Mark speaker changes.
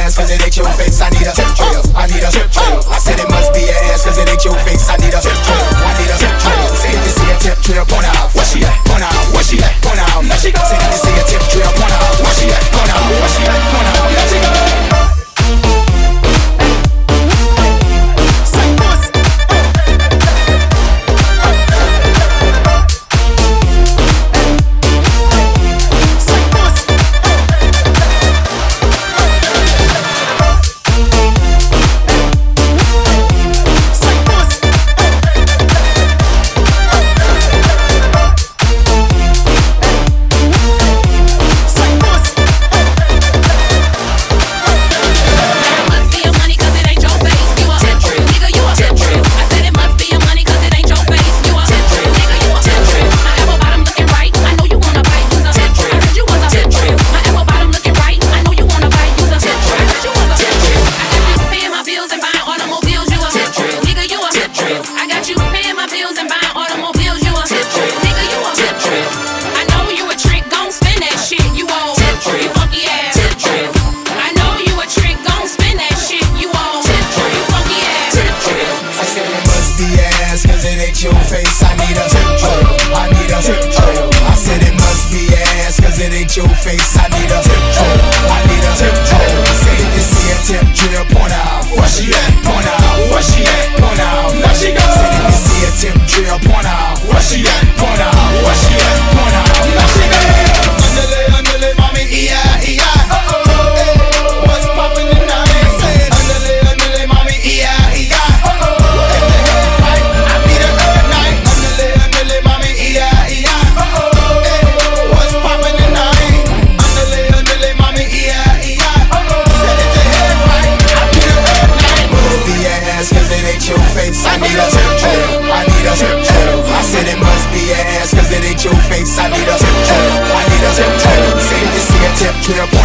Speaker 1: ass, cause it ain't your face. I need a tip drill. I need a tip drill. I said it must be your ass, cause it ain't your face. I need a tip drill. I need a tip drill. Say if you see a tip drill, point out. Where she at? Point out. Where she at? Point out. Let she go. Say if you see a tip drill, point out. Where she at? Point out. Where she at? Point out. Let she go. Your face, I need a tip drill. I need a tip drill. I said it must be your ass, cause it ain't your face. I need a tip drill. I need a tip drill. Say if you see a tip drill, point out. Where she at? Point out. Where she at? Point out. Let she go. Say if you see a tip drill, point out. Where she at? Point out. Where she at? Point out. Let she go. Underlay, underlay, mommy, E-I-E-I. What's poppin' tonight? Underlay, underlay, mommy, E-I-E-I. I need a tip drill. I need a tip drill. I said it must be your ass, cause it ain't your face. I need a tip drill. I need a tip drill. Say if you see a tip drill.